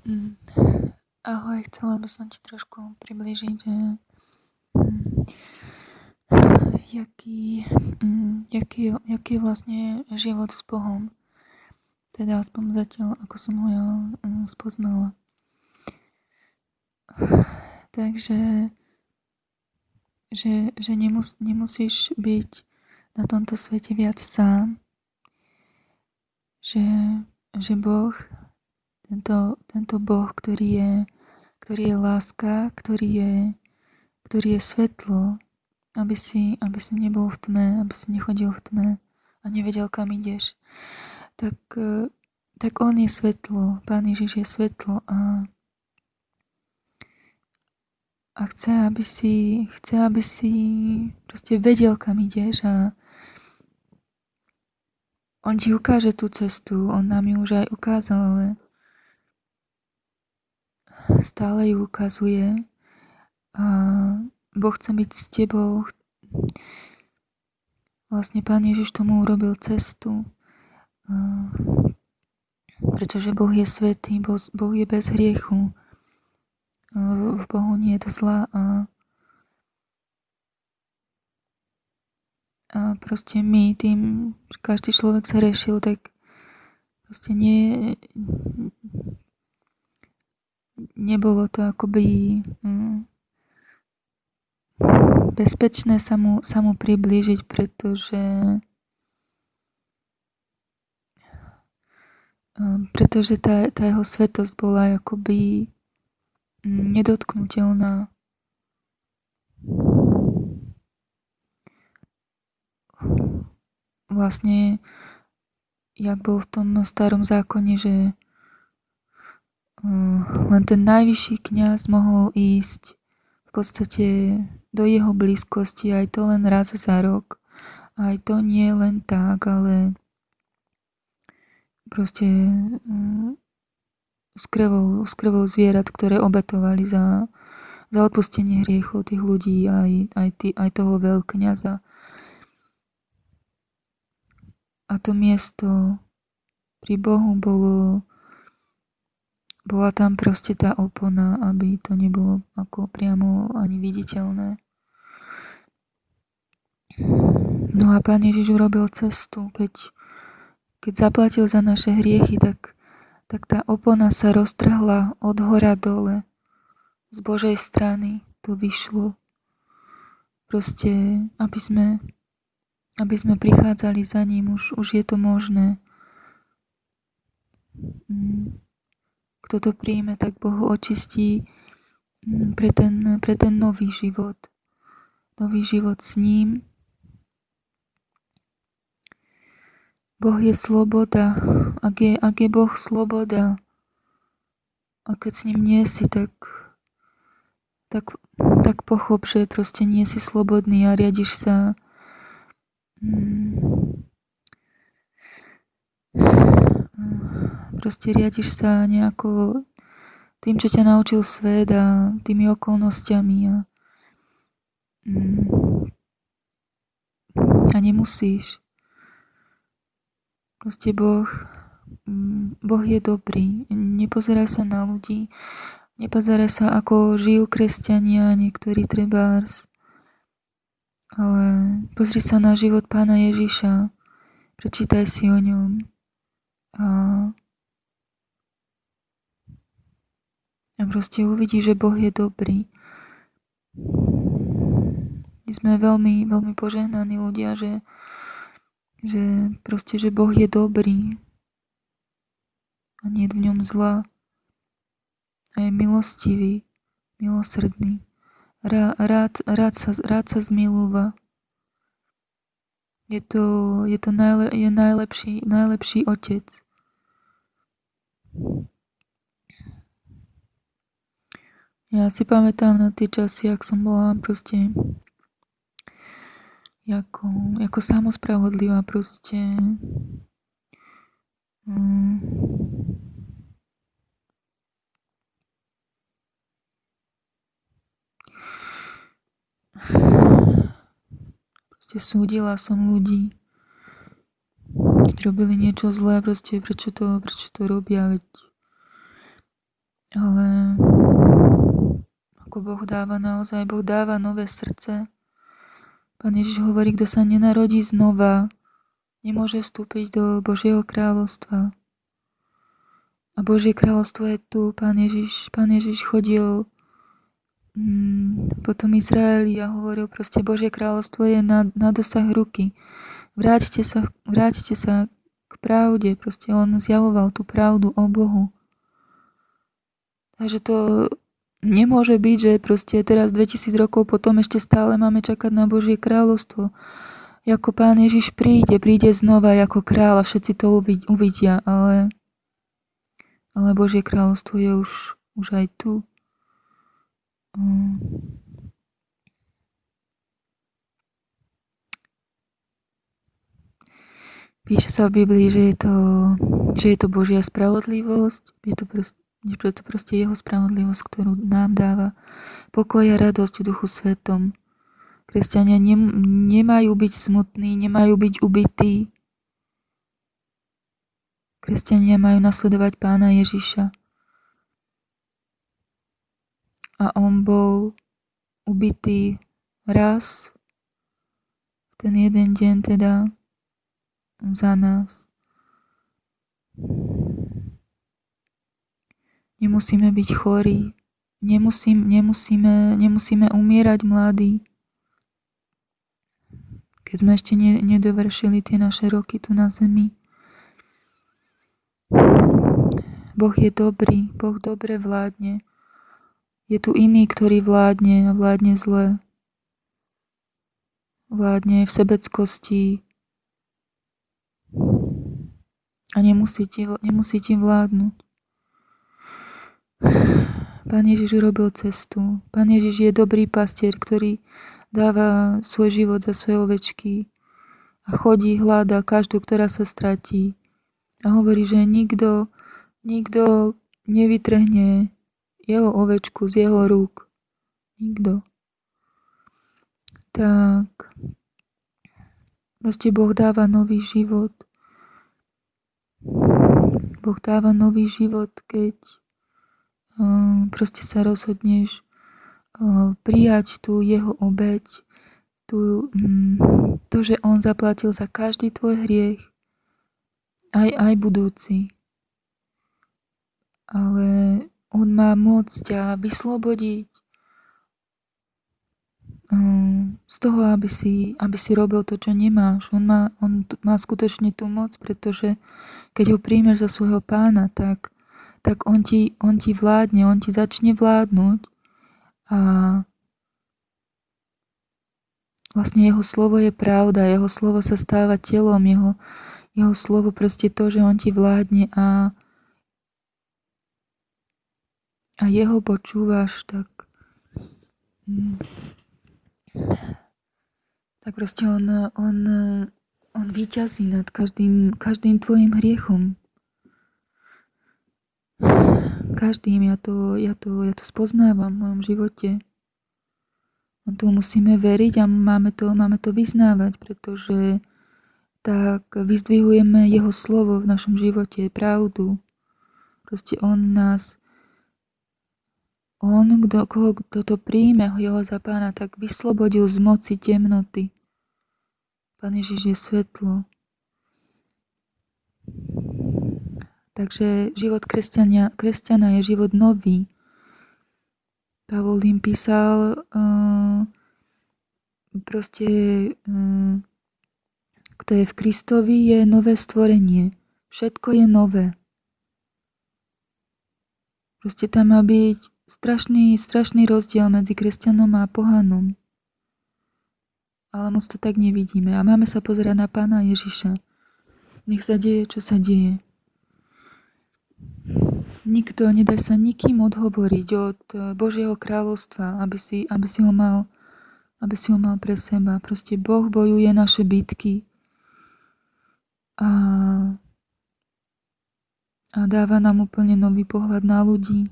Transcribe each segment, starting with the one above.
Mm. Ahoj, chcela by som ti trošku približiť, že jaký je vlastne život s Bohom. Teda aspoň zatiaľ, ako som ho ja spoznala. Takže že nemusíš byť na tomto svete viac sám. Že Boh, tento Boh, ktorý je láska, ktorý je svetlo, aby si nebol v tme, aby si nechodil v tme a nevedel, kam ideš. Tak on je svetlo, Pán Ježiš je svetlo a chce, aby si proste vedel, kam ideš a on ti ukáže tú cestu, on nám ju už aj ukázal, ale stále ju ukazuje a Boh chce byť s tebou. Vlastne Pán Ježiš tomu urobil cestu, pretože Boh je svätý, Boh je bez hriechu, v Bohu nie je zla a proste my tým, že každý človek sa riešil, tak proste nebolo to akoby bezpečné sa mu priblížiť, pretože tá jeho svetosť bola akoby nedotknutelná. Vlastne, jak bol v tom starom zákone, že len ten najvyšší kňaz mohol ísť v podstate do jeho blízkosti, aj to len raz za rok. Aj to nie len tak, ale proste s krvou zvierat, ktoré obetovali za odpustenie hriechov tých ľudí, aj toho veľkňaza. A to miesto pri Bohu bola tam proste tá opona, aby to nebolo ako priamo ani viditeľné. No a Pán Ježiš urobil cestu, keď zaplatil za naše hriechy, tak tá opona sa roztrhla od hora dole. Z Božej strany to vyšlo. Proste, aby sme prichádzali za ním, už je to možné. Kto to príjme, tak Boh ho očistí pre ten nový život. Nový život s ním. Boh je sloboda. Ak je Boh sloboda, a keď s ním nie si, tak pochop, že proste nie si slobodný a riadiš sa nejako tým, čo ťa naučil svet a tými okolnostiami a nemusíš. Proste Boh je dobrý. Nepozerá sa na ľudí, nepozerá sa, ako žijú kresťania, niektorí trebárs, ale pozri sa na život Pána Ježiša, prečítaj si o ňom a proste uvidí, že Boh je dobrý. My sme veľmi, veľmi požehnaní ľudia, že Boh je dobrý a nie je v ňom zla a je milostivý, milosrdný. Rád sa zmilúva. Je najlepší otec. Ja si pamätám na tie časy, jak som bola proste ako samospravodlivá proste. Proste súdila som ľudí, ktorí robili niečo zlé, proste prečo to robia, veď Ale ako Boh dáva naozaj, Boh dáva nové srdce. Pán Ježiš hovorí, kto sa nenarodí znova, nemôže vstúpiť do Božieho kráľovstva. A Božie kráľovstvo je tu. Pán Ježiš chodil po tom Izraeli a hovoril proste, Božie kráľovstvo je na dosah ruky. Vráťte sa k pravde. Proste on zjavoval tú pravdu o Bohu. Takže to nemôže byť, že proste teraz 2000 rokov potom ešte stále máme čakať na Božie kráľovstvo. Ako Pán Ježiš príde znova ako kráľ a všetci to uvidia, ale Božie kráľovstvo je už aj tu. Píše sa v Biblii, že je to Božia spravodlivosť, je to proste jeho spravodlivosť, ktorú nám dáva pokoj a radosť v Duchu Svetom. Kresťania nemajú byť smutní, nemajú byť ubití. Kresťania majú nasledovať Pána Ježiša. A on bol ubitý raz v ten jeden deň teda za nás. Nemusíme byť chorí, nemusíme umierať mladí, keď sme ešte nedovršili tie naše roky tu na zemi. Boh je dobrý, Boh dobre vládne. Je tu iný, ktorý vládne a vládne zle. Vládne v sebeckosti a nemusí ti vládnuť. Pán Ježiš urobil cestu. Pán Ježiš je dobrý pastier, ktorý dáva svoj život za svoje ovečky a chodí, hľadá každú, ktorá sa stratí. A hovorí, že nikto nevytrhne jeho ovečku z jeho rúk. Nikto. Tak. Proste Boh dáva nový život. Boh dáva nový život, keď proste sa rozhodneš prijať tú jeho obeť, to, že on zaplatil za každý tvoj hriech, aj budúci. Ale on má moc ťa vyslobodiť z toho, aby si robil to, čo nemáš. On má skutočne tú moc, pretože keď ho príjmeš za svojho pána, tak on ti vládne, on ti začne vládnuť a vlastne jeho slovo je pravda, jeho slovo sa stáva telom, jeho slovo proste to, že on ti vládne a jeho počúvaš, tak proste on víťazí nad každým tvojim hriechom. Každým, ja to spoznávam v mojom živote. A to musíme veriť a máme to vyznávať, pretože tak vyzdvihujeme jeho slovo v našom živote, pravdu. Proste kto to príjme, jeho za pána, tak vyslobodil z moci temnoty. Pán Ježiš je svetlo. Takže život kresťana je život nový. Pavol im písal kto je v Kristovi, je nové stvorenie. Všetko je nové. Proste tam má byť strašný rozdiel medzi kresťanom a pohanom. Ale moc to tak nevidíme. A máme sa pozerať na Pána Ježiša. Nech sa deje, čo sa deje. Nedaj sa nikým odhovoriť od Božieho kráľovstva, aby si ho mal pre seba. Proste Boh bojuje naše bitky a dáva nám úplne nový pohľad na ľudí.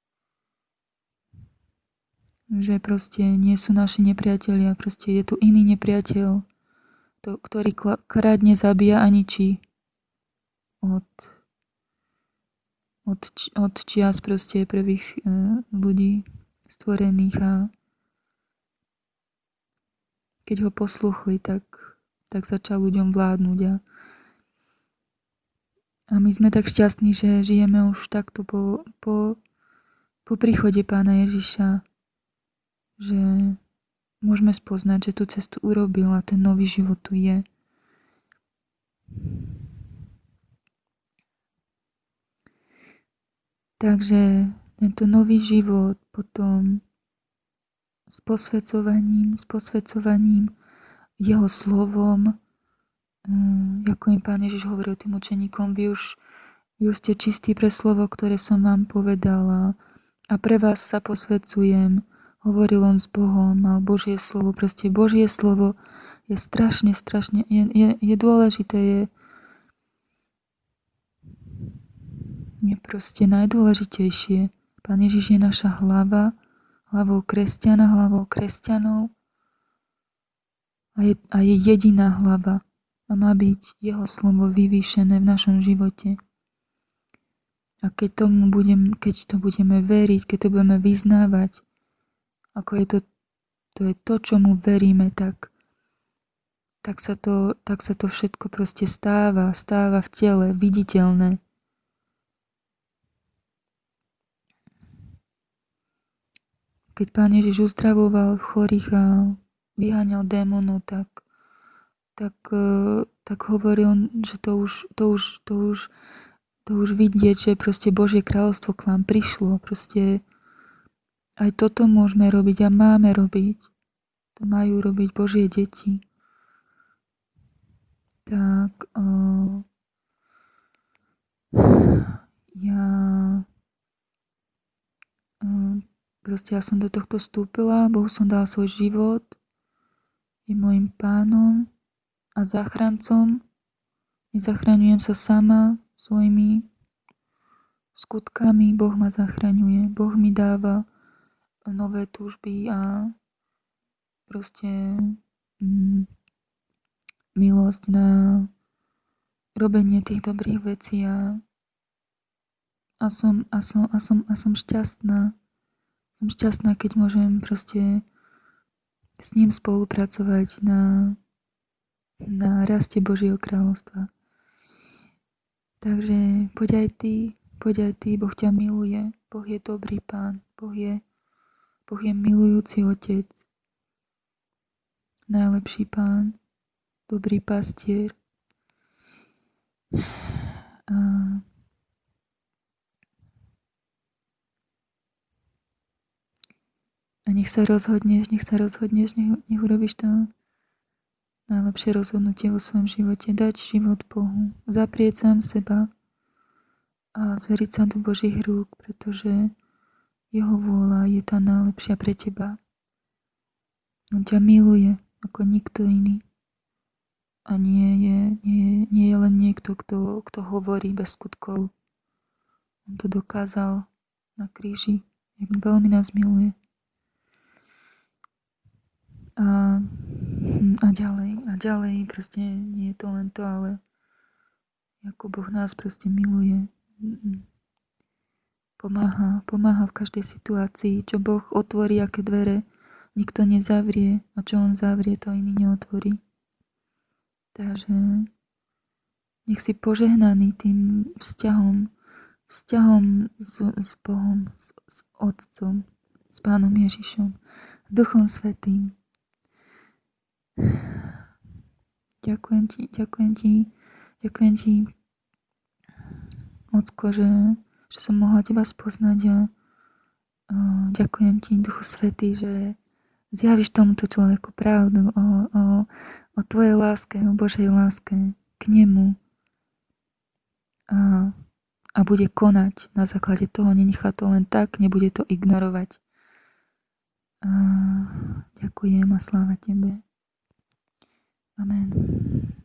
Že proste nie sú naši nepriatelia, proste je tu iný nepriateľ, ktorý kradne, zabíja a ničí. od čias proste prvých ľudí stvorených a keď ho posluchli, tak začal ľuďom vládnuť a my sme tak šťastní, že žijeme už takto po príchode Pána Ježiša, že môžeme spoznať, že tú cestu urobil a ten nový život tu je. Takže tento nový život potom s posvedcovaním jeho slovom, ako im Pán Ježiš hovoril tým učeníkom, vy už ste čistí pre slovo, ktoré som vám povedala a pre vás sa posvedcujem. Hovoril on s Bohom, mal Božie slovo. Proste Božie slovo je strašne, je dôležité, je proste najdôležitejšie. Pán Ježiš je naša hlava, hlavou kresťanov a je jediná hlava a má byť jeho slovo vyvýšené v našom živote. A keď to budeme veriť, keď to budeme vyznávať, ako to je to, čomu veríme, tak sa to všetko proste stáva v tele, viditeľné. Keď Pán Ježiš uzdravoval chorých a vyháňal démonov, tak hovoril, že to už vidieť, že proste Božie kráľovstvo k vám prišlo. Proste aj toto môžeme robiť a máme robiť. To majú robiť Božie deti. Tak ja som do tohto vstúpila, Bohu som dala svoj život, je môjim Pánom a záchrancom. Nezachraňujem sa sama svojimi skutkami, Boh ma zachraňuje. Boh mi dáva nové túžby a proste milosť na robenie tých dobrých vecí a som šťastná. Som šťastná, keď môžem proste s ním spolupracovať na raste Božieho kráľovstva. Takže poď aj ty, Boh ťa miluje, Boh je dobrý Pán, Boh je milujúci Otec, najlepší Pán, dobrý pastier. A nech sa rozhodneš, nech urobíš to najlepšie rozhodnutie vo svojom živote. Dať život Bohu, zaprieť sám seba a zveriť sa do Božích rúk, pretože jeho vôľa je tá najlepšia pre teba. On ťa miluje ako nikto iný. A nie je len niekto, kto hovorí bez skutkov. On to dokázal na kríži, jak veľmi nás miluje. A ďalej, proste nie je to len to, ale ako Boh nás proste miluje. Pomáha v každej situácii, čo Boh otvorí, aké dvere nikto nezavrie a čo on zavrie, to iný neotvorí. Takže nech si požehnaný tým vzťahom s Bohom, s Otcom, s Pánom Ježišom, s Duchom Svätým. Ďakujem ti, Ocko, že som mohla teba spoznať a ďakujem ti, Duchu Svätý, že zjavíš tomuto človeku pravdu o tvojej láske, o Božej láske k nemu a bude konať na základe toho, nenechá to len tak, nebude to ignorovať. Ďakujem a sláva tebe. Amen.